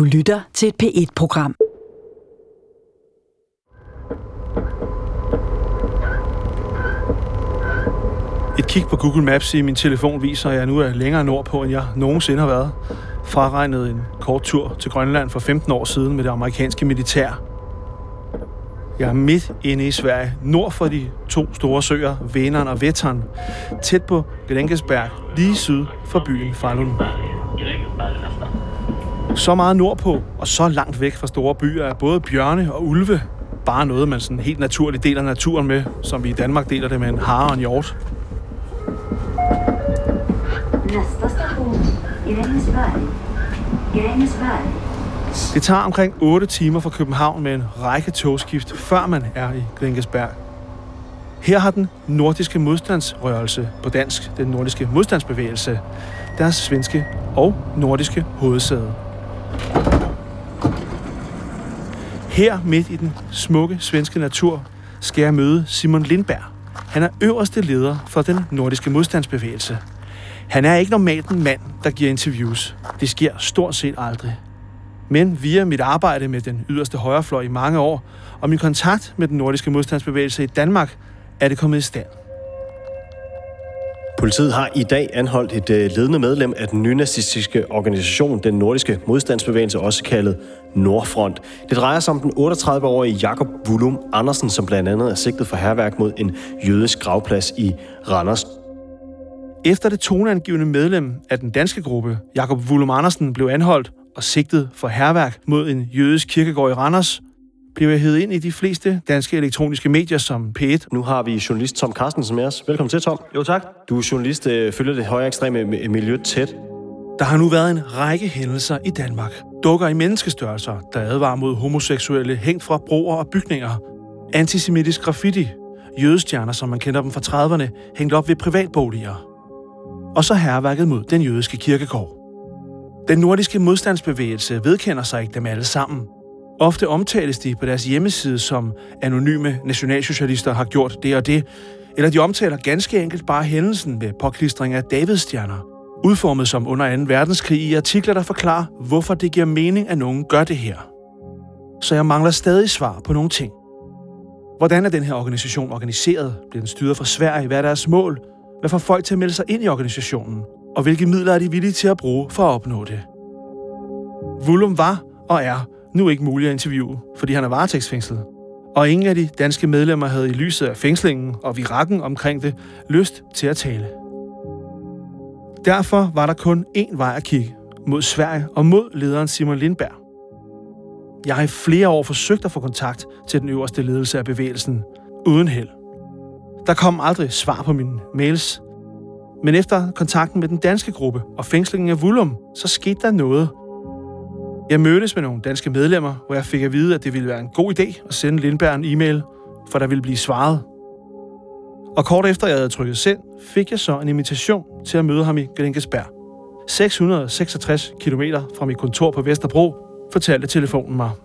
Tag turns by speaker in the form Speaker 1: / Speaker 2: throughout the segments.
Speaker 1: Du lytter til et P1-program.
Speaker 2: Et kig på Google Maps i min telefon viser, at jeg nu er længere nordpå, end jeg nogensinde har været. Fraregnet en kort tur til Grønland for 15 år siden med det amerikanske militær. Jeg er midt inde i Sverige, nord for de to store søer, Vänern og Vättern, tæt på Grängesberg, lige syd for byen Falun. Så meget nordpå og så langt væk fra store byer er både bjørne og ulve bare noget, man sådan helt naturligt deler naturen med, som vi i Danmark deler det med en hare og en hjort.
Speaker 3: Næste station, Grängesberg.
Speaker 2: Det tager omkring 8 timer fra København med en række togskift, før man er i Grängesberg. Her har den nordiske modstandsrørelse, på dansk den nordiske modstandsbevægelse, deres svenske og nordiske hovedsæde. Her midt i den smukke svenske natur skal jeg møde Simon Lindberg. Han er øverste leder for den nordiske modstandsbevægelse. Han er ikke normalt en mand, der giver interviews. Det sker stort set aldrig. Men via mit arbejde med den yderste højrefløj i mange år, og min kontakt med den nordiske modstandsbevægelse i Danmark, er det kommet i stand.
Speaker 4: Politiet har i dag anholdt et ledende medlem af den nynazistiske organisation, den nordiske modstandsbevægelse, også kaldet Nordfront. Det drejer sig om den 38-årige Jakob Vullum Andersen, som blandt andet er sigtet for hærværk mod en jødisk gravplads i Randers.
Speaker 2: Efter det toneangivende medlem af den danske gruppe, Jakob Vullum Andersen, blev anholdt og sigtet for hærværk mod en jødisk kirkegård i Randers, blev jeg hevet ind i de fleste danske elektroniske medier som P1.
Speaker 4: Nu har vi journalist Tom Carstensen med os. Velkommen til, Tom.
Speaker 2: Jo, tak.
Speaker 4: Du er journalist, følger det højere ekstreme miljø tæt.
Speaker 2: Der har nu været en række hændelser i Danmark. Dukker i menneskestørrelser, der advarer mod homoseksuelle hængt fra broer og bygninger. Antisemitisk graffiti. Jødestjerner, som man kender dem fra 30'erne, hængt op ved privatboliger. Og så hærværket mod den jødiske kirkegård. Den nordiske modstandsbevægelse vedkender sig ikke dem alle sammen. Ofte omtales de på deres hjemmeside som anonyme nationalsocialister har gjort det og det, eller de omtaler ganske enkelt bare hændelsen med påklistring af Davidsstjerner, udformet som under 2. verdenskrig i artikler, der forklarer, hvorfor det giver mening, at nogen gør det her. Så jeg mangler stadig svar på nogle ting. Hvordan er den her organisation organiseret? Bliver den styret fra Sverige? Hvad er deres mål? Hvad får folk til at melde sig ind i organisationen? Og hvilke midler er de villige til at bruge for at opnå det? Vullum var og er nu ikke muligt at interviewe, fordi han er varetægtsfængslet. Og ingen af de danske medlemmer havde i lyset af fængslingen og virakken omkring det lyst til at tale. Derfor var der kun én vej at kigge, mod Sverige og mod lederen Simon Lindberg. Jeg har i flere år forsøgt at få kontakt til den øverste ledelse af bevægelsen, uden held. Der kom aldrig svar på mine mails. Men efter kontakten med den danske gruppe og fængslingen af Vullum, så skete der noget. Jeg mødtes med nogle danske medlemmer, hvor jeg fik at vide, at det ville være en god idé at sende Lindberg en e-mail, for der ville blive svaret. Og kort efter jeg havde trykket send, fik jeg så en invitation til at møde ham i Grängesberg. 666 kilometer fra mit kontor på Vesterbro, fortalte telefonen mig.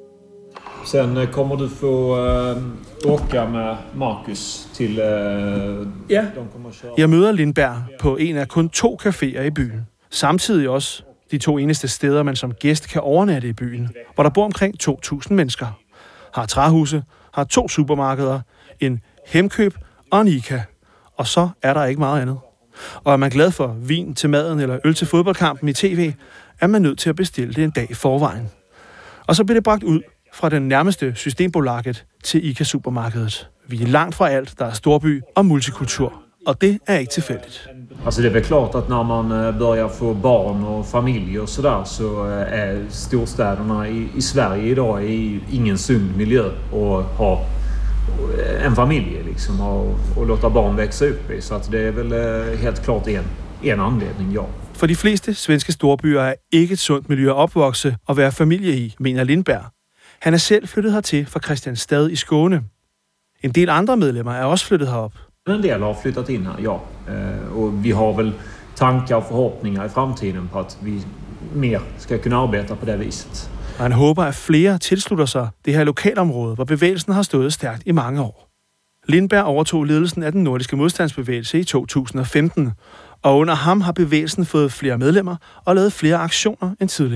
Speaker 5: Sen kommer du få åka med Markus til...
Speaker 2: Ja, jeg møder Lindberg på en af kun 2 caféer i byen. Samtidig også de 2 eneste steder, man som gæst kan overnatte i byen, hvor der bor omkring 2.000 mennesker. Har træhuse, har 2 supermarkeder, en Hemkøb og en ICA. Og så er der ikke meget andet. Og er man glad for vin til maden eller øl til fodboldkampen i tv, er man nødt til at bestille det en dag i forvejen. Og så bliver det bragt ud fra den nærmeste Systembolaget til ICA-supermarkedet. Vi er langt fra alt, der er storby og multikultur. Og det er ikke tilfældigt.
Speaker 5: Altså det er vel klart, at når man börjar få barn og familie og sådär, så er storstäderna i Sverige i dag ingen sund miljö at ha en familie liksom, og låta barn växa upp i. Så att det är väl helt klart en anledning, ja.
Speaker 2: For de fleste svenske storbyer er ikke et sundt miljø at opvokse og være familie i, mener Lindberg. Han er selv flyttet hertil fra Kristianstad i Skåne. En del andre medlemmer er også flyttet herop.
Speaker 5: En del har flyttat in här, ja. Och vi har väl tankar och förhoppningar i framtiden på att vi mer ska kunna arbeta på det viset.
Speaker 2: Og han håber, at flere tilslutter sig det her lokalområde, hvor bevægelsen har stået stærkt i mange år. Lindberg overtog ledelsen af den nordiske modstandsbevægelse i 2015, og under ham har bevægelsen fået flere medlemmer og lavet flere aktioner end tidligere.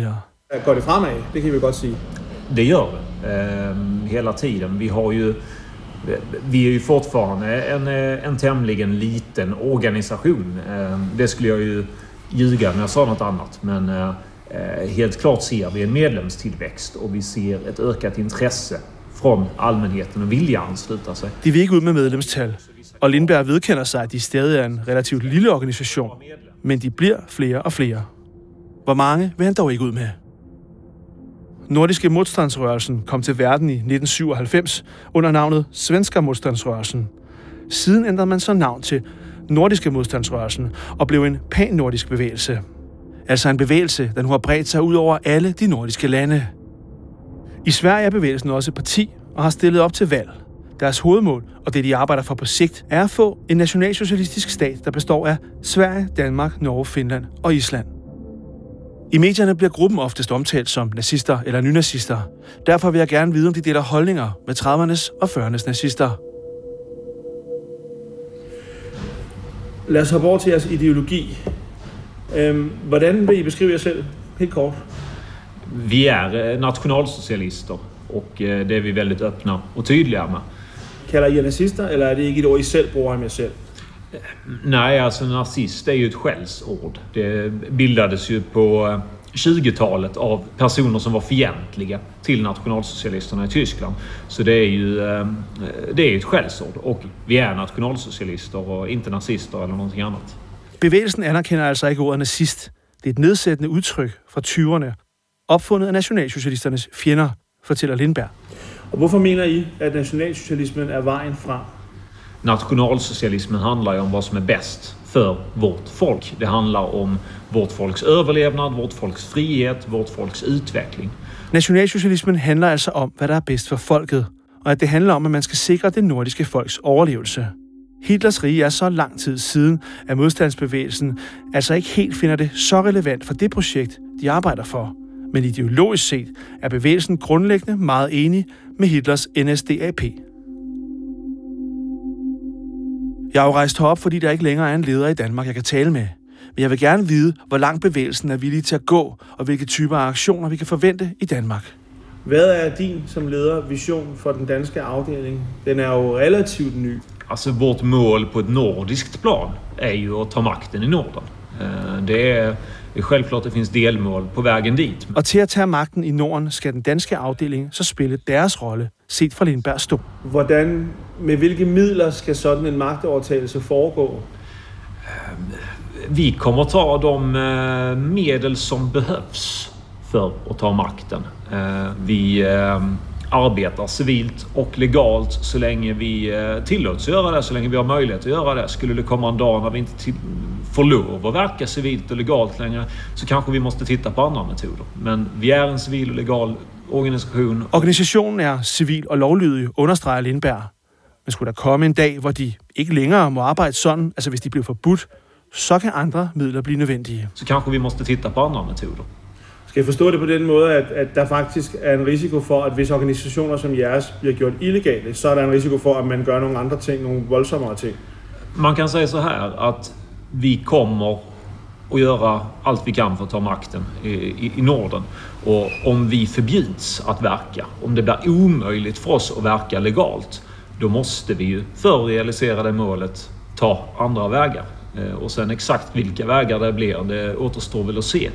Speaker 2: Går det fremad? Det kan vi godt sige.
Speaker 5: Det gör det. Hela tiden. Vi är ju fortfarande en tämligen liten organisation. Det skulle jag ju ljuga när jag sa något annat. Men helt klart ser vi en medlemstillväxt och vi ser ett ökat intresse från allmänheten och vilja ansluta sig.
Speaker 2: De vil ikke ud med medlemstal, og Lindberg vedkender sig, at de stadig er en relativt lille organisation, men de bliver flere og flere. Hvor mange vil han dog ikke ud med? Nordiske modstandsrørelsen kom til verden i 1997 under navnet Svenska modstandsrørelsen. Siden ændrede man så navn til Nordiske modstandsrørelsen og blev en pan-nordisk bevægelse. Altså en bevægelse, der nu har bredt sig ud over alle de nordiske lande. I Sverige er bevægelsen også et parti og har stillet op til valg. Deres hovedmål, og det de arbejder for på sigt, er at få en nationalsocialistisk stat, der består af Sverige, Danmark, Norge, Finland og Island. I medierne bliver gruppen oftest omtalt som nazister eller nynazister. Derfor vil jeg gerne vide, om de deler holdninger med 30'ernes og 40'ernes nazister. Lad os hoppe over til jeres ideologi. Hvordan vil I beskrive jer selv? Helt kort.
Speaker 5: Vi är nationalsocialister och det är vi väldigt öppna och tydliga med.
Speaker 2: Kalder I jer nazister, eller er det ikke et ord, I selv bruger om jer selv?
Speaker 5: Nej, alltså nazist är ju ett skällsord. Det bildades ju på 20-talet av personer som var fientliga till nationalsocialisterna i Tyskland. Så det är ju ett skällsord. Och vi är nationalsocialister och inte nazister eller någonting annat.
Speaker 2: Bevægelsen anerkender altså ikke ordet nazist. Det er et nedsættende udtryk fra 20'erne, opfundet af nationalsocialisternes fjender, fortæller Lindberg. Og hvorfor mener I, at nationalsocialismen er vejen frem?
Speaker 5: Nationalsocialismen handlar ju om vad som är bäst för vårt folk. Det handlar om vårt folks överlevnad, vårt folks frihet, vårt folks utveckling.
Speaker 2: Nationalsocialismen handler altså om, hvad der er bedst for folket, og at det handler om, at man skal sikre det nordiske folks overlevelse. Hitlers rige er så lang tid siden, at modstandsbevægelsen altså ikke helt finder det så relevant for det projekt, de arbejder for. Men ideologisk set er bevægelsen grundlæggende meget enig med Hitlers NSDAP. Jeg har jo rejst herop, fordi der ikke længere er en leder i Danmark, jeg kan tale med. Men jeg vil gerne vide, hvor langt bevægelsen er villig til at gå, og hvilke typer af aktioner vi kan forvente i Danmark. Hvad er din som leder vision for den danske afdeling? Den er jo relativt ny.
Speaker 5: Alltså vårt mål på ett nordiskt plan är ju att ta makten i Norden. Det är självklart, det finns delmål på vägen dit.
Speaker 2: Og til at tage magten i Norden skal den danske afdeling så spille deres rolle, set fra Lindbergs stol. Med hvilke midler skal sådan en magtovertagelse foregå?
Speaker 5: Vi kommer ta de medel som behövs för att ta makten. Vi arbetar civilt och legalt så länge vi tillåts göra det, så länge vi har möjlighet att göra det. Skulle det komma en dag när vi inte får lov att verka civilt och legalt längre, så kanske vi måste titta på andra metoder. Men vi är en civil och legal organisation.
Speaker 2: Organisationen er civil og lovlydig, understreger Lindberg. Men skulle der komme en dag, hvor de ikke længere må arbejde sådan, altså hvis de bliver forbudt, så kan andre midler blive nødvendige.
Speaker 5: Så kanske vi måste titta på andra metoder.
Speaker 2: Skal jeg forstå det på den måde, at der faktisk er en risiko for, at hvis organisationer som jeres bliver gjort illegale, så er der en risiko for, at man gør nogle andre ting, nogle voldsommere ting?
Speaker 5: Man kan säga så här att vi kommer att göra allt vi kan för att ta makten i Norden. Och om vi förbjuds att verka, om det blir omöjligt för oss att verka legalt, då måste vi ju för att realisera det målet ta andra vägar. Och sen exakt vilka vägar det blir, det återstår väl att se.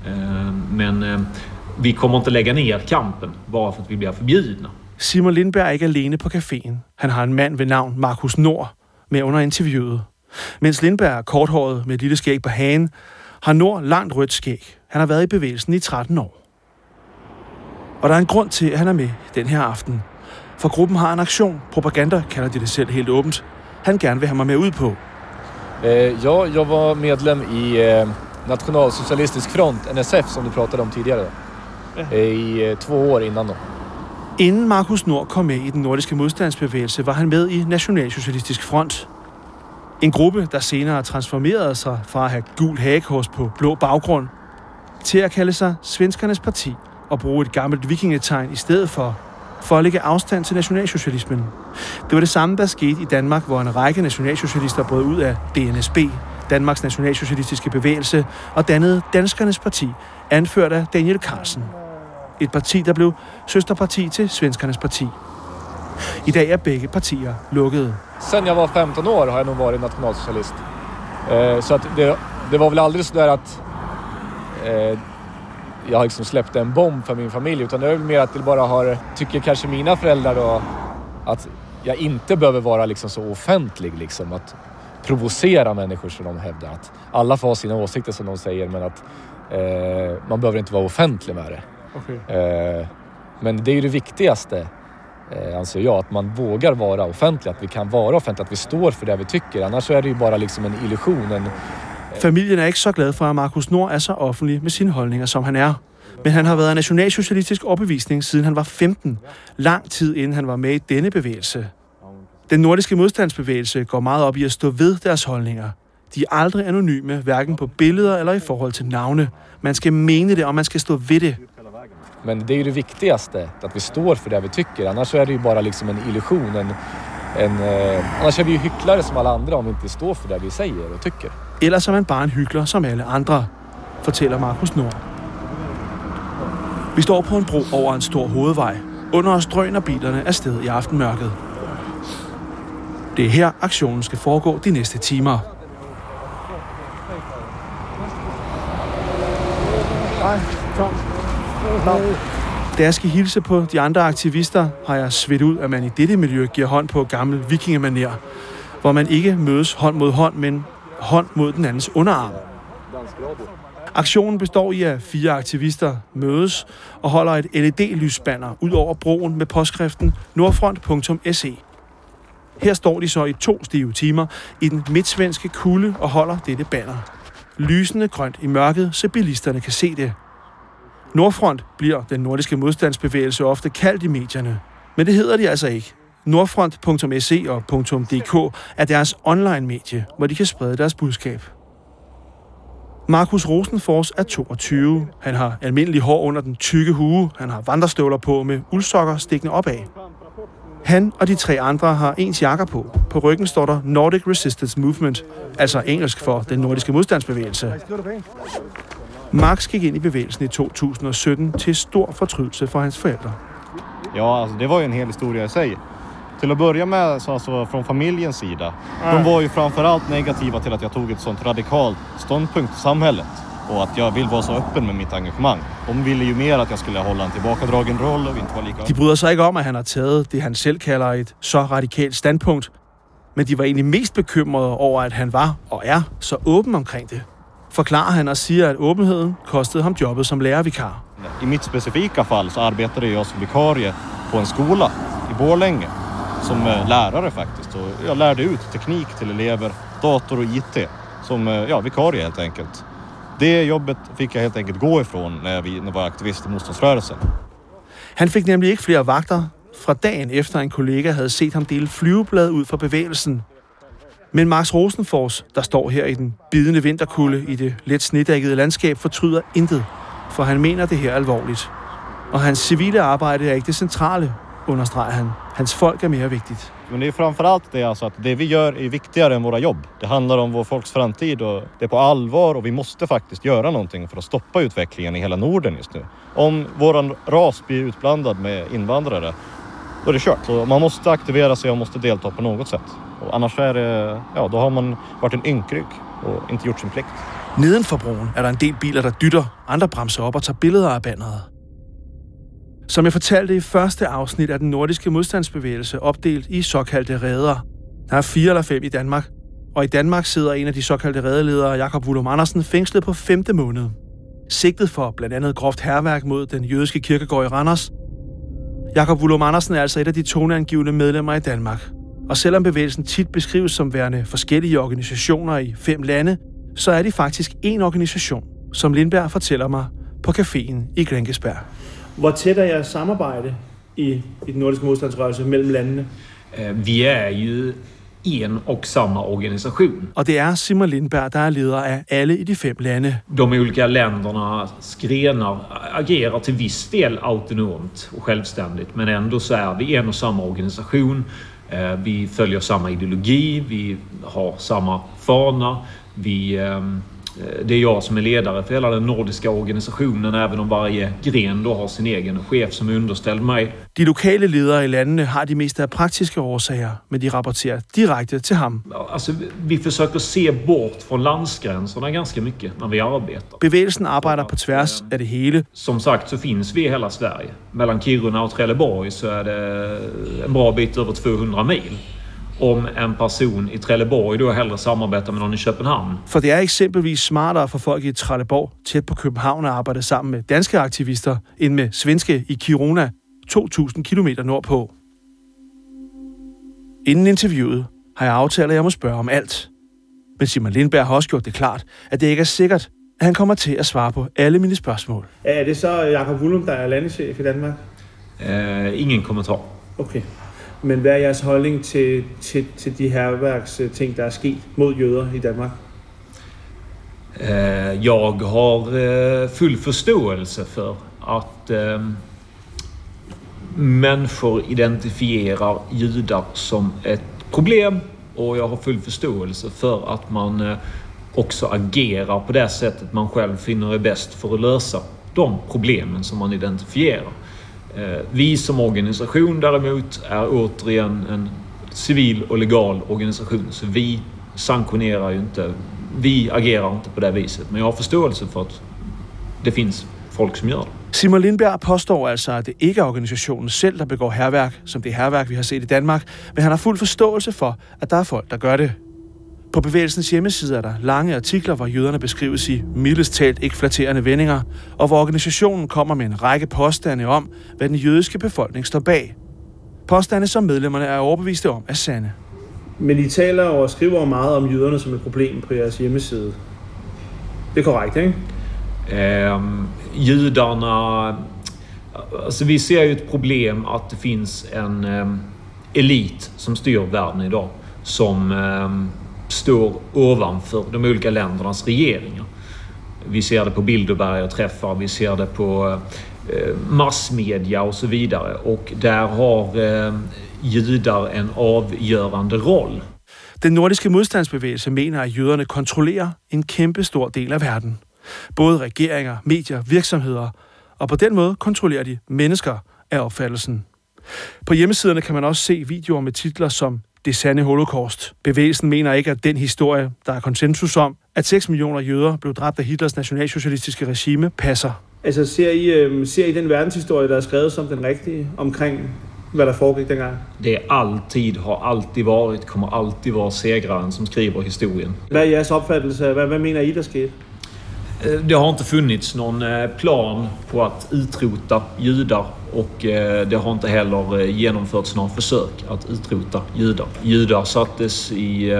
Speaker 5: Men vi kommer inte lägga ner kampen bara för att vi blir förbjudna.
Speaker 2: Simon Lindberg er ikke alene på caféen. Han har en mand ved navn Markus Nord med under interviewet. Mens Lindberg er korthåret med et lille skæg på hagen, har Nord langt rødt skæg. Han har været i bevægelsen i 13 år. Og der er en grund til, at han er med den her aften. For gruppen har en aktion. Propaganda kalder de det selv helt åbent. Han gerne vil have mig med ud på.
Speaker 6: Ja, jag var medlem i Nationalsocialistisk Front, NSF, som du pratade om tidigare. I 2 år innan då.
Speaker 2: Inden Markus Nord kom med i den nordiske modstandsbevægelse, var han med i Nationalsocialistisk Front. En gruppe, der senere transformerede sig fra at have gul hagekors på blå baggrund, til at kalde sig Svenskernes Parti og bruge et gammelt vikingetegn i stedet for at lægge afstand til nationalsocialismen. Det var det samme, der skete i Danmark, hvor en række nationalsocialister brød ud af DNSB, Danmarks Nationalsocialistiske Bevægelse, og dannede Danskernes Parti anført af Daniel Carlsen. Et parti, der blev søsterparti til Svenskernes parti. I dag er begge partier lukkede.
Speaker 6: Sen jag var 15 år har jag nog varit nationalsocialist. Så att det var väl aldrig så där att jag har liksom släppt en bomb för min familj, utan det är väl mer att det bara tycker kanske mina föräldrar då, att jag inte behöver vara liksom så offentlig, liksom att provocera människor som de hävdar. Att alla får ha sina åsikter som de säger, men att man behöver inte vara offentlig med det. Okay. Men det är ju det viktigaste, anser jag, att man vågar vara offentlig, att vi kan vara offentliga, att vi står för det vi tycker. Annars så är det ju bara liksom en illusion.
Speaker 2: Familien er ikke så glad for, at Markus Nord er så offentlig med sine holdninger, som han er. Men han har været af nationalsocialistisk overbevisning, siden han var 15. Lang tid inden han var med i denne bevægelse. Den nordiske modstandsbevægelse går meget op i at stå ved deres holdninger. De er aldrig anonyme, hverken på billeder eller i forhold til navne. Man skal mene det, og man skal stå ved det.
Speaker 6: Men det är ju det viktigaste, att vi står för det vi tycker. Annars så är det ju bara liksom en illusion. Annars är vi ju hycklare som alla andra om vi inte står för det vi säger och tycker.
Speaker 2: Ellers er man bare en hykler som alle andre, fortæller Markus Nord. Vi står på en bro over en stor hovedvej. Under os drøner bilerne afsted i aftenmørket. Det er her, aktionen skal foregå de næste timer. Da jeg skal hilse på de andre aktivister, har jeg svedt ud, at man i dette miljø giver hånd på gammel vikingemanér, hvor man ikke mødes hånd mod hånd, men hånd mod den andens underarm. Aktionen består i, at 4 aktivister mødes og holder et LED-lysbanner ud over broen med påskriften nordfront.se. Her står de så i 2 stive timer i den midtsvenske kulde og holder dette banner. Lysende grønt i mørket, så bilisterne kan se det. Nordfront bliver den nordiske modstandsbevægelse ofte kaldt i medierne. Men det hedder de altså ikke. Nordfront.se og .dk er deres online-medie, hvor de kan sprede deres budskab. Markus Rosenfors er 22. Han har almindelig hår under den tykke hue. Han har vandrestøvler på med uldsokker stikkende opad. Han og de 3 andre har ens jakker på. På ryggen står der Nordic Resistance Movement, altså engelsk for den nordiske modstandsbevægelse. Max gik ind i bevægelsen i 2017 til stor fortrydelse for hans forældre.
Speaker 7: Ja, alltså det var ju en hel historia i sig. Till att börja med, så alltså från familjens sida. De var ju framförallt negativa till att jag tog ett sånt radikalt ståndpunkt i samhället. Och att jag vill vara så öppen med mitt engagemang. De ville ju mer att jag skulle hålla en tillbakadragen roll och inte vara lika...
Speaker 2: De bryder sig ikke om, at han har taget det, han selv kalder et så radikalt standpunkt. Men de var egentlig mest bekymrede over, at han var og er så åben omkring det. Forklarer han og siger, at åbenheden kostede ham jobbet som lærervikar.
Speaker 7: I mitt specifika fall så arbetade jag som vikarie på en skola i Borlänge som lärare faktiskt. Och jag lärde ut teknik till elever, dator och IT som vikarie helt enkelt. Det jobbet fick jag helt enkelt gå ifrån när jag var aktivist i motståndsrörelsen.
Speaker 2: Han fik nemlig ikke flere vagter fra dagen efter en kollega havde set ham dele flyveblad ud for bevægelsen. Men Max Rosenfors, der står her i den bidende vinterkulde i det let snedækkede landskab, fortryder intet, for han mener det her alvorligt. Og hans civile arbejde er ikke det centrale, understreger han. Hans folk er mere vigtigt.
Speaker 7: Men det är framförallt det, alltså att det vi gör är viktigare än våra jobb. Det handlar om vår folks framtid och det är på allvar, och vi måste faktiskt göra någonting för att stoppa utvecklingen i hela Norden just nu. Om våran ras blir utblandad med invandrare, då är det kört. Så man måste aktivera sig och måste delta på något sätt. Och annars är det, då har man varit en ynkrygg och inte gjort sin plikt.
Speaker 2: Neden for broen er der en del biler, der dytter. Andre bremser op og tager billeder af banneret. Som jeg fortalte i første afsnit af den nordiske modstandsbevægelse opdelt i såkaldte reder. Der er 4 eller 5 i Danmark. Og i Danmark sidder en af de såkaldte redeledere, Jakob Vullum Andersen, fængslet på 5. måned. Sigtet for blandt andet groft hærværk mod den jødiske kirkegård i Randers. Jakob Vullum Andersen er altså et af de toneangivende medlemmer i Danmark. Og selvom bevægelsen tit beskrives som værende forskellige organisationer i 5 lande, så er de faktisk én organisation, som Lindberg fortæller mig på caféen i Grängesberg. Hvor tæt er jeres samarbejde i den nordiske modstandsrørelse mellem landene?
Speaker 5: Vi är ju en och samma organisation.
Speaker 2: Og det er Simon Lindberg, der er leder af alle i de 5 lande.
Speaker 5: De olika ländernas grenar agerar till viss del autonomt och självständigt, men ändå så är vi en och samma organisation. Vi följer samma ideologi, vi har samma fana, vi Det är jag som är ledare för hela den nordiska organisationen, även om varje gren då har sin egen chef som är underställd mig.
Speaker 2: De lokale ledere i landene har de meste af praktiske årsager, men de rapporterer direkte til ham.
Speaker 5: Alltså, vi försöker se bort från landsgränserna ganska mycket när vi arbetar.
Speaker 2: Bevægelsen arbejder på tværs af det hele.
Speaker 5: Som sagt så finns vi i hela Sverige. Mellan Kiruna och Trelleborg så är det en bra bit över 200 mil. Om en person i Trelleborg då hellre samarbetar med någon i København.
Speaker 2: For det er eksempelvis smartere for folk i Trelleborg tæt på København at arbejde sammen med danske aktivister, end med svenske i Kiruna, 2.000 kilometer nordpå. Inden interviewet har jeg aftalt, at jeg må spørge om alt. Men Simon Lindberg har også gjort det klart, at det ikke er sikkert, at han kommer til at svare på alle mine spørgsmål.
Speaker 8: Er det så Jakob Vullum, der er landeschef i Danmark?
Speaker 5: Ingen kommentar.
Speaker 8: Okay. Men hvad er jeres holdning til de hærværksting, der er sket mod jøder i Danmark?
Speaker 5: Jag har full förståelse för att människor identifierar judar som ett problem, och jag har full förståelse för att man också agerar på det sättet man själv finner är bäst för att lösa de problemen som man identifierar. Vi som organisation däremot är återigen en civil och legal organisation, så vi sanktionerar ju inte, vi agerar inte på det viset, men jag har förståelse för att det finns folk som gör det.
Speaker 2: Simon Lindberg påstår altså, at det ikke er organisationen selv, der begår hærværk, som det hærværk, vi har set i Danmark, men han har fuld forståelse for, at der er folk, der gør det. På bevægelsens hjemmeside er der lange artikler, hvor jøderne beskrives i mildest talt ikke flatterende vendinger, og hvor organisationen kommer med en række påstande om, hvad den jødiske befolkning står bag. Påstande, som medlemmerne er overbeviste om, er sande.
Speaker 8: Men I taler og skriver meget om jøderne som et problem på jeres hjemmeside. Det er korrekt, ikke?
Speaker 5: Judarna... Alltså vi ser ju ett problem att det finns en elit som styr världen idag, som står ovanför de olika ländernas regeringar. Vi ser det på Bilderberg och träffar, vi ser det på massmedia och så vidare. Och där har judar en avgörande roll.
Speaker 2: Den nordiske modstandsbevægelse mener, at jøderne kontrollerer en kæmpe stor del af verden. Både regeringer, medier, virksomheder, og på den måde kontrollerer de mennesker af opfattelsen. På hjemmesiderne kan man også se videoer med titler som Det sande holocaust. Bevægelsen mener ikke, at den historie, der er konsensus om, at 6 millioner jøder blev dræbt af Hitlers nationalsocialistiske regime, passer.
Speaker 8: Altså ser I den verdenshistorie, der er skrevet som den rigtige omkring, hvad der foregik dengang?
Speaker 5: Det har alltid varit, kommer alltid vara segraren som skriver historien.
Speaker 8: Hvad er jeres opfattelse? Hvad mener I, der skete?
Speaker 5: Det har inte funnits någon plan på att utrota judar, och det har inte heller genomförts några försök att utrota judar. Judar sattes i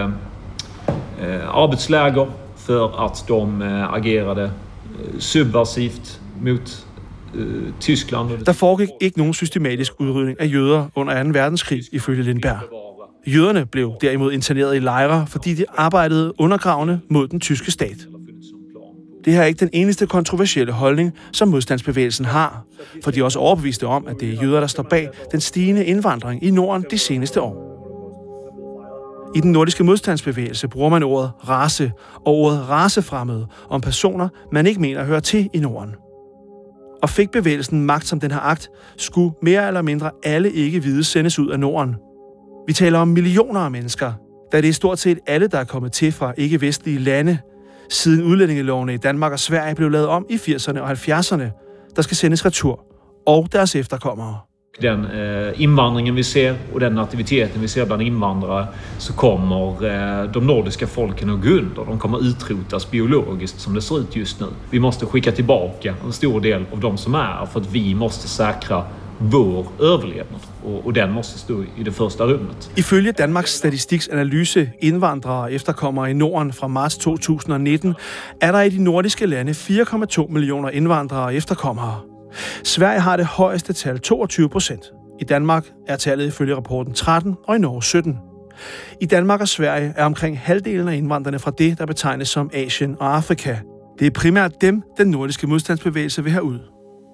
Speaker 5: arbetsläger för att de agerade subversivt mot Tyskland.
Speaker 2: Der foregik ikke nogen systematisk udrydning af jøder under 2. verdenskrig, ifølge Lindberg. Jøderne blev derimod interneret i lejre, fordi de arbejdede undergravende mod den tyske stat. Det her er ikke den eneste kontroversielle holdning, som modstandsbevægelsen har, for de er også overbeviste om, at det er jøder, der står bag den stigende indvandring i Norden de seneste år. I den nordiske modstandsbevægelse bruger man ordet race og ordet racefremmede om personer, man ikke mener hører til i Norden. Og fik bevægelsen magt, som den har agt, skulle mere eller mindre alle ikke-hvide sendes ud af Norden. Vi taler om millioner af mennesker, da det er stort set alle, der er kommet til fra ikke-vestlige lande, siden udlændingelovene i Danmark og Sverige blev lavet om i 80'erne og 70'erne, der skal sendes retur, og deres efterkommere.
Speaker 5: Den invandringen vi ser och den aktiviteten vi ser bland invandrare, så kommer de nordiska folken att gå under. De kommer utrotas biologiskt som det ser ut just nu. Vi måste skicka tillbaka en stor del av de som är, för att vi måste säkra vår överlevnad, och den måste stå i det första rummet.
Speaker 2: Ifølge Danmarks Statistiks analyse indvandrere og efterkommere i Norden fra marts 2019, er der i de nordiske lande 4,2 millioner indvandrere og efterkommere. Sverige har det højeste tal, 22%. I Danmark er tallet ifølge rapporten 13, og i Norge 17. I Danmark og Sverige er omkring halvdelen af indvandrerne fra det, der betegnes som Asien og Afrika. Det er primært dem, den nordiske modstandsbevægelse vil have ud.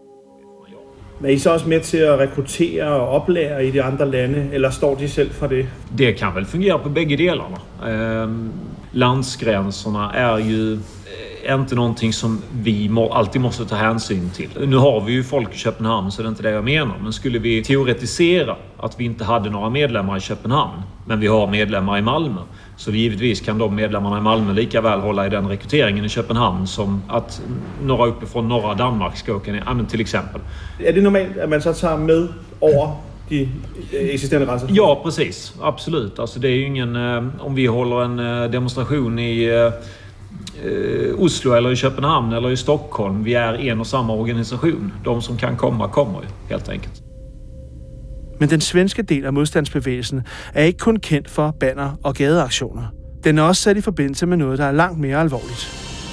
Speaker 8: Er I så også med til at rekruttere og oplære i de andre lande, eller står de selv for det?
Speaker 5: Det kan väl fungera på bägge delarna. Landsgränserna är ju är inte någonting som vi alltid måste ta hänsyn till. Nu har vi ju folk i Köpenhamn, så det är inte det jag menar. Men skulle vi teoretisera att vi inte hade några medlemmar i Köpenhamn, men vi har medlemmar i Malmö, så givetvis kan de medlemmarna i Malmö lika väl hålla i den rekryteringen i Köpenhamn som att några uppifrån norra Danmark ska åka ner, till exempel.
Speaker 8: Är det normalt att man så tar med över de existerande gränser?
Speaker 5: Ja, precis. Absolut. Alltså det är ju ingen... om vi håller en demonstration i Oslo eller i Köpenhamn eller i Stockholm, vi är en och samma organisation. De som kan komma kommer ju, helt enkelt.
Speaker 2: Men den svenske del af modstandsbevægelsen er ikke kun kendt for banner og gadeaktioner. Den er også sat i forbindelse med noget, der er langt mere alvorligt.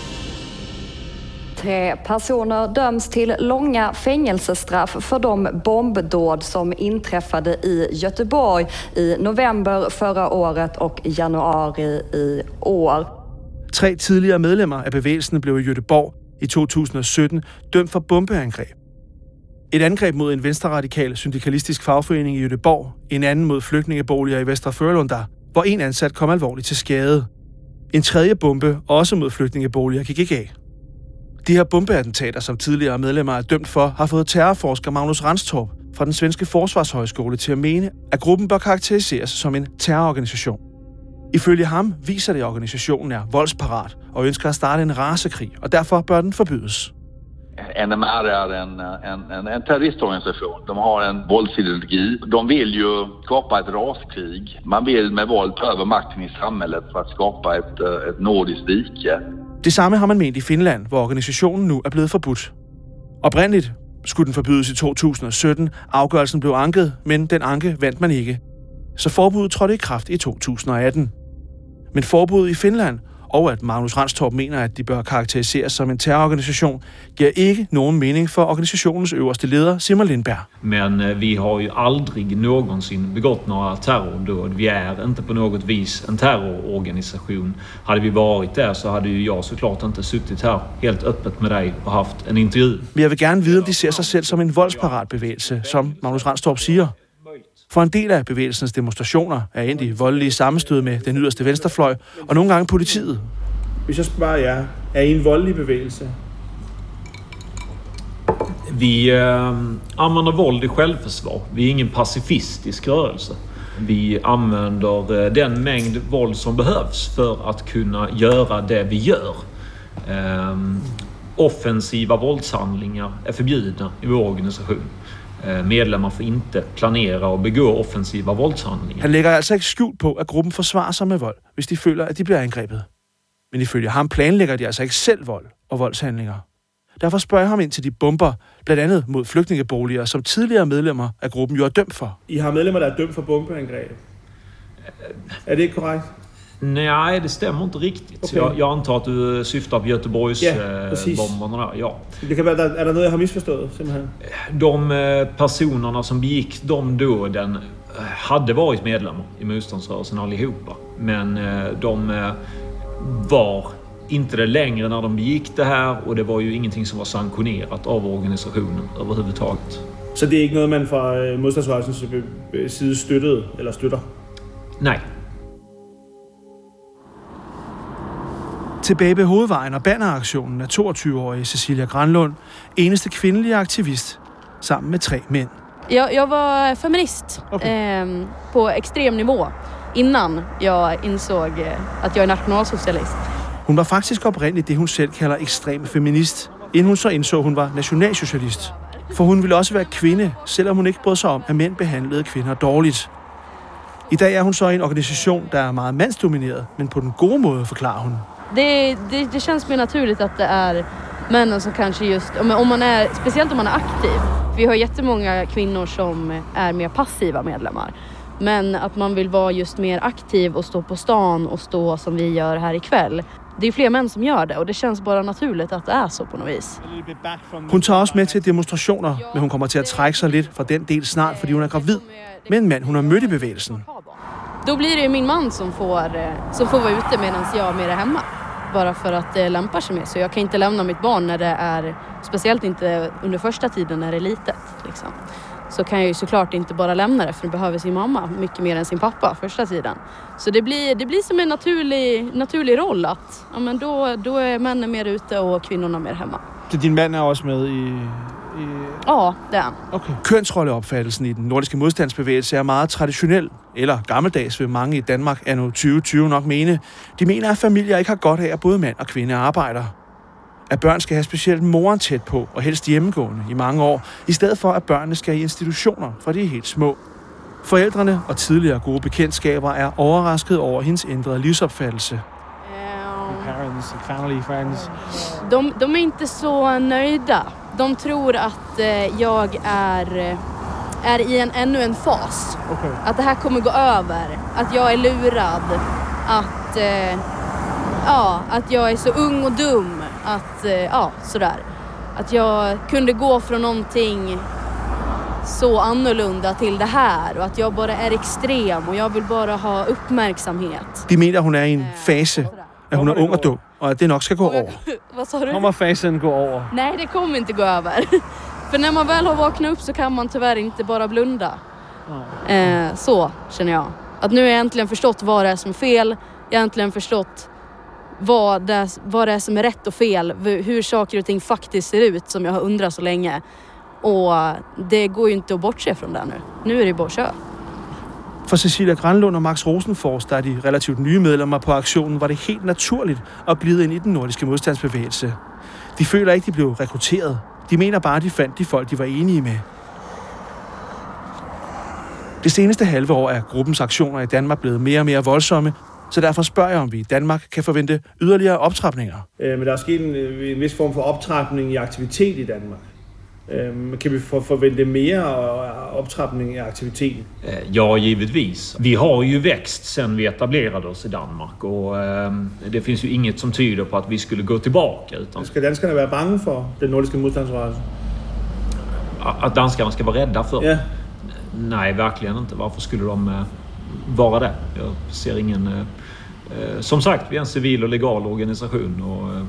Speaker 9: 3 personer döms till långa fängelsestraff för de bombdåd som inträffade i Göteborg i november förra året och januari i år.
Speaker 2: 3 tidligere medlemmer af bevægelsen blev i Göteborg i 2017 dømt for bombeangreb. Et angreb mod en venstreradikal syndikalistisk fagforening i Göteborg, en anden mod flygtningeboliger i Västra Frölunda, hvor en ansat kom alvorligt til skade. En tredje bombe, også mod flygtningeboliger, gik ikke af. De her bombeattentater, som tidligere medlemmer er dømt for, har fået terrorforsker Magnus Ranstorp fra den svenske forsvarshøjskole til at mene, at gruppen bør karakteriseres som en terrororganisation. Ifølge ham viser det, at organisationen er voldsparat og ønsker at starte en rasekrig, og derfor bør den forbydes.
Speaker 10: NMR är en terroristorganisation. De har en våldsideologi. De vill ju skapa ett raskrig. Man vill med våld ta över makten i samhället för att skapa ett nordiskt rike.
Speaker 2: Det samme har man ment i Finland, hvor organisationen nu er blevet forbudt. Oprindeligt skulle den forbydes i 2017. Afgørelsen blev anket, men den anke vandt man ikke. Så forbuddet trådte i kraft i 2018. Men forbuddet i Finland, og at Magnus Ranstorp mener, at de bør karakteriseres som en terrororganisation, giver ikke nogen mening for organisationens øverste leder, Simon Lindberg.
Speaker 5: Men vi har ju aldrig någonsin begått några terrordåd. Vi är inte på något vis en terrororganisation. Hade vi varit där så hade ju jag såklart inte suttit här helt öppet med dig och haft en intervju.
Speaker 2: Men jeg vil gerne vide, om de ser sig selv som en voldsparat bevægelse, som Magnus Ranstorp siger. For en del af bevægelsens demonstrationer er endt i voldelige sammenstød med den yderste venstrefløj, og nogle gange politiet.
Speaker 8: Hvis jeg spørger jer, er I en voldelig bevægelse?
Speaker 5: Vi använder våld i självförsvar. Vi är ingen pacifistisk rörelse. Vi använder den mängd våld som behövs för att kunna göra det vi gör. Offensiva våldshandlingar är förbjudna i vår organisation. Medlemmer får inte planera og begå offensiva voldshandlinger.
Speaker 2: Han lægger altså ikke skjult på, at gruppen forsvarer sig med vold, hvis de føler, at de bliver angrebet. Men ifølge ham planlægger de altså ikke selv vold og voldshandlinger. Derfor spørger jeg ham ind til de bomber, blandt andet mod flygtningeboliger, som tidligere medlemmer af gruppen jo er dømt for.
Speaker 8: I har medlemmer, der er dømt for bombeangreb. Er det ikke korrekt?
Speaker 5: Nej, det stämmer inte riktigt. Okay. Jag antar att du syftar på Göteborgs bomberna där. Ja.
Speaker 8: Det kan være, er der noget, jeg har misforstået simpelthen?
Speaker 5: De personerna som begick de dåden hade varit medlemmar i motståndsrörelsen allihopa. Men de var inte det längre när de begick det här, och det var ju ingenting som var sanktionerat av organisationen överhuvudtaget.
Speaker 8: Så det er ikke noget, man fra modstandsrørelsens side støttede eller støtter?
Speaker 5: Nej.
Speaker 2: Tilbage ved Hovedvejen og banneraktionen er 22-årige Cecilia Granlund eneste kvindelige aktivist, sammen med 3 mænd.
Speaker 11: Jag var feminist på extrem nivå innan jag insåg att jag är nationalsocialist.
Speaker 2: Hun var faktisk oprindeligt det, hun selv kalder ekstrem feminist, inden hun så indså, hun var nationalsocialist. For hun ville også være kvinde, selvom hun ikke brød sig om, at mænd behandlede kvinder dårligt. I dag er hun så i en organisation, der er meget mandsdomineret, men på den gode måde, forklarer hun.
Speaker 11: Det känns mer naturligt att det är männen som kanske just, om man är, speciellt om man är aktiv. Vi har jättemånga kvinnor som är mer passiva medlemmar. Men att man vill vara just mer aktiv och stå på stan och stå som vi gör här ikväll. Det är fler män som gör det, och det känns bara naturligt att det är så på något vis.
Speaker 2: Hun tager også med til demonstrationer, men hun kommer til at trække sig lidt fra den del snart, fordi hun er gravid med en mand, hun har mødt i bevægelsen.
Speaker 11: Då blir det ju min man som får vara ute medan jag är mer hemma. Bara för att det lämpar sig med. Så jag kan inte lämna mitt barn när det är, speciellt inte under första tiden när det är litet. Liksom. så kan jag ju såklart inte bara lämna det, för det behöver sin mamma mycket mer än sin pappa första tiden. Så det blir som en naturlig roll att ja, men då är männen mer ute och kvinnorna mer hemma.
Speaker 2: Så din mand er også med i...
Speaker 11: Ja, det er.
Speaker 2: Okay. Kønsrolleopfattelsen i den nordiske modstandsbevægelse er meget traditionel, eller gammeldags vil mange i Danmark anno 2020 nok mene. De mener, at familier ikke har godt af, at både mand og kvinde arbejder. At børn skal have specielt moren tæt på, og helst hjemmegående i mange år, i stedet for at børnene skal i institutioner, fra de er helt små. Forældrene og tidligere gode bekendtskaber er overrasket over hendes ændrede livsopfattelse.
Speaker 8: Parents, family, friends.
Speaker 11: De är inte så nöjda. De tror att jag är i ännu en fas.
Speaker 8: Okay.
Speaker 11: Att det här kommer gå över. Att jag är lurad. Att jag är så ung och dum. Sådär. Att jag kunde gå från någonting så annorlunda till det här. Och att jag bara är extrem och jag vill bara ha uppmärksamhet.
Speaker 2: De mener, hun er i en fase, at hun er ung og dum, og at det nok skal gå over.
Speaker 11: Vad sa du?
Speaker 8: Kommer fasen gå over?
Speaker 11: Nej, det kommer inte gå över. För när man väl har vaknat upp så kan man tyvärr inte bara blunda. Så känner jag. Att nu har jag äntligen förstått vad det är som är fel. Jag har äntligen förstått vad det är som är rätt och fel. Hur saker och ting faktiskt ser ut, som jag har undrat så länge. Och det går ju inte att bortse från det nu. Nu är det bara att köra.
Speaker 2: For Cecilia Granlund og Max Rosenfors, der er de relativt nye medlemmer på aktionen, var det helt naturligt at glide ind i den nordiske modstandsbevægelse. De føler ikke, de blev rekrutteret. De mener bare, de fandt de folk, de var enige med. Det seneste halve år er gruppens aktioner i Danmark blevet mere og mere voldsomme, så derfor spørger jeg, om vi i Danmark kan forvente yderligere optrapninger.
Speaker 8: Men der er sket en vis form for optrapning i aktivitet i Danmark. Kan vi forvente mere optrapning i aktiviteten?
Speaker 5: Ja, givetvis. Vi har ju växt sen vi etablerade oss i Danmark och det finns ju inget som tyder på att vi skulle gå tillbaka. Utan
Speaker 8: ska danskarna vara bange för den nordiska motståndsrörelsen?
Speaker 5: Att danskarna ska vara rädda för?
Speaker 8: Ja.
Speaker 5: Nej, verkligen inte. Varför skulle de vara det? Jag ser ingen... Som sagt, vi är en civil och legal organisation och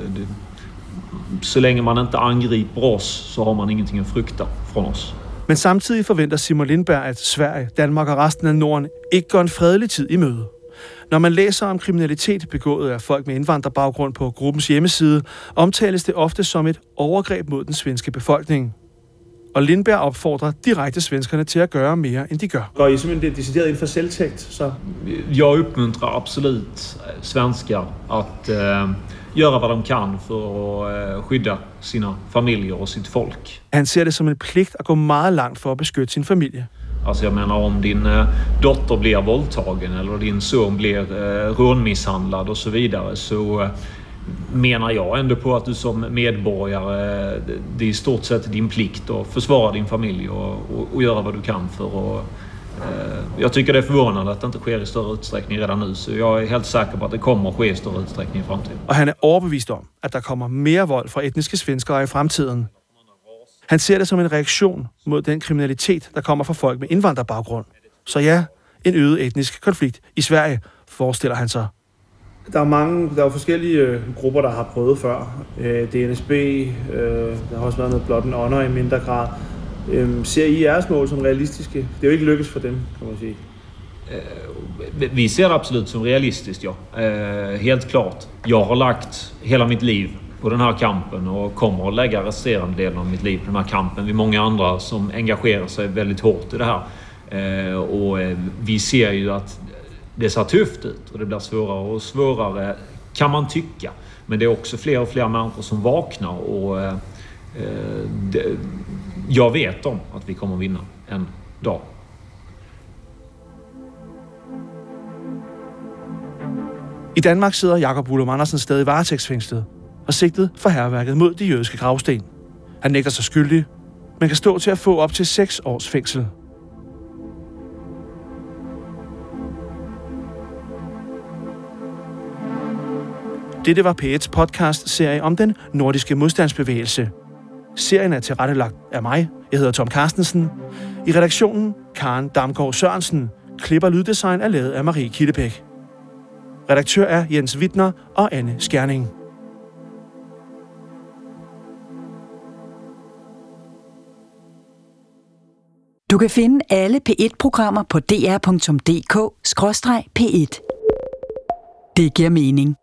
Speaker 5: så længe man inte angriper oss, så har man ingenting at frygte från oss.
Speaker 2: Men samtidig forventer Simon Lindberg, at Sverige, Danmark og resten af Norden ikke går en fredelig tid i møde. Når man læser om kriminalitet begået af folk med indvandrerbaggrund på gruppens hjemmeside, omtales det ofte som et overgreb mod den svenske befolkning. Og Lindberg opfordrer direkte svenskerne til at gøre mere, end de gør.
Speaker 8: Går I simpelthen decideret ind for selvtægt? Så?
Speaker 5: Jag uppmuntrar absolut svenskar att göra vad de kan för att skydda sina familjer och sitt folk.
Speaker 2: Han ser det som en pligt at gå meget langt for at beskytte sin familie.
Speaker 5: Alltså jag menar, om din dotter blir våldtagen eller din son blir rånmisshandlad och så vidare, så menar jag ändå på att du som medborgare, det är i stort sett din plikt att försvara din familj och göra vad du kan för att... Jag tycker det är förvånande att det inte sker i större utsträckning redan nu, så jag är helt säker på att det kommer att ske i större utsträckning i framtiden.
Speaker 2: Og han er overbevist om, at der kommer mere vold fra etniske svenskere i fremtiden. Han ser det som en reaktion mod den kriminalitet, der kommer fra folk med indvandrerbaggrund. Så ja, en øget etnisk konflikt i Sverige, forestiller han sig.
Speaker 8: Der er forskellige grupper, der har prøvet før. DNSB, der har også været noget Blood and Honor i mindre grad. Ser I jeres mål som realistiske? Det er jo ikke lykkes for dem, kan man sige.
Speaker 5: Vi ser det absolut som realistiskt, ja. Helt klart. Jag har lagt hela mitt liv på den här kampen och kommer att lägga resterande delen av mitt liv på den här kampen. Vi är många andra som engagerar sig väldigt hårt i det här. Och vi ser ju att det ser tufft ut och det blir svårare och svårare, kan man tycka. Men det är också fler och fler människor som vaknar och jag vet om att vi kommer att vinna en dag.
Speaker 2: I Danmark sidder Jakob Vullum Andersen stadig varetægtsfængslet og sigtet for hærværket mod de jødiske gravsten. Han nægter sig skyldig, men kan stå til at få op til 6 års fængsel. Dette var P1's podcast-serie om den nordiske modstandsbevægelse. Serien er tilrettelagt af mig. Jeg hedder Tom Carstensen. I redaktionen Karen Damgaard Sørensen. Klip og lyddesign er lavet af Marie Kildebæk. Redaktør er Jens Wittner og Anne Skjerning.
Speaker 1: Du kan finde alle P1-programmer på dr.dk/P1. Det giver mening.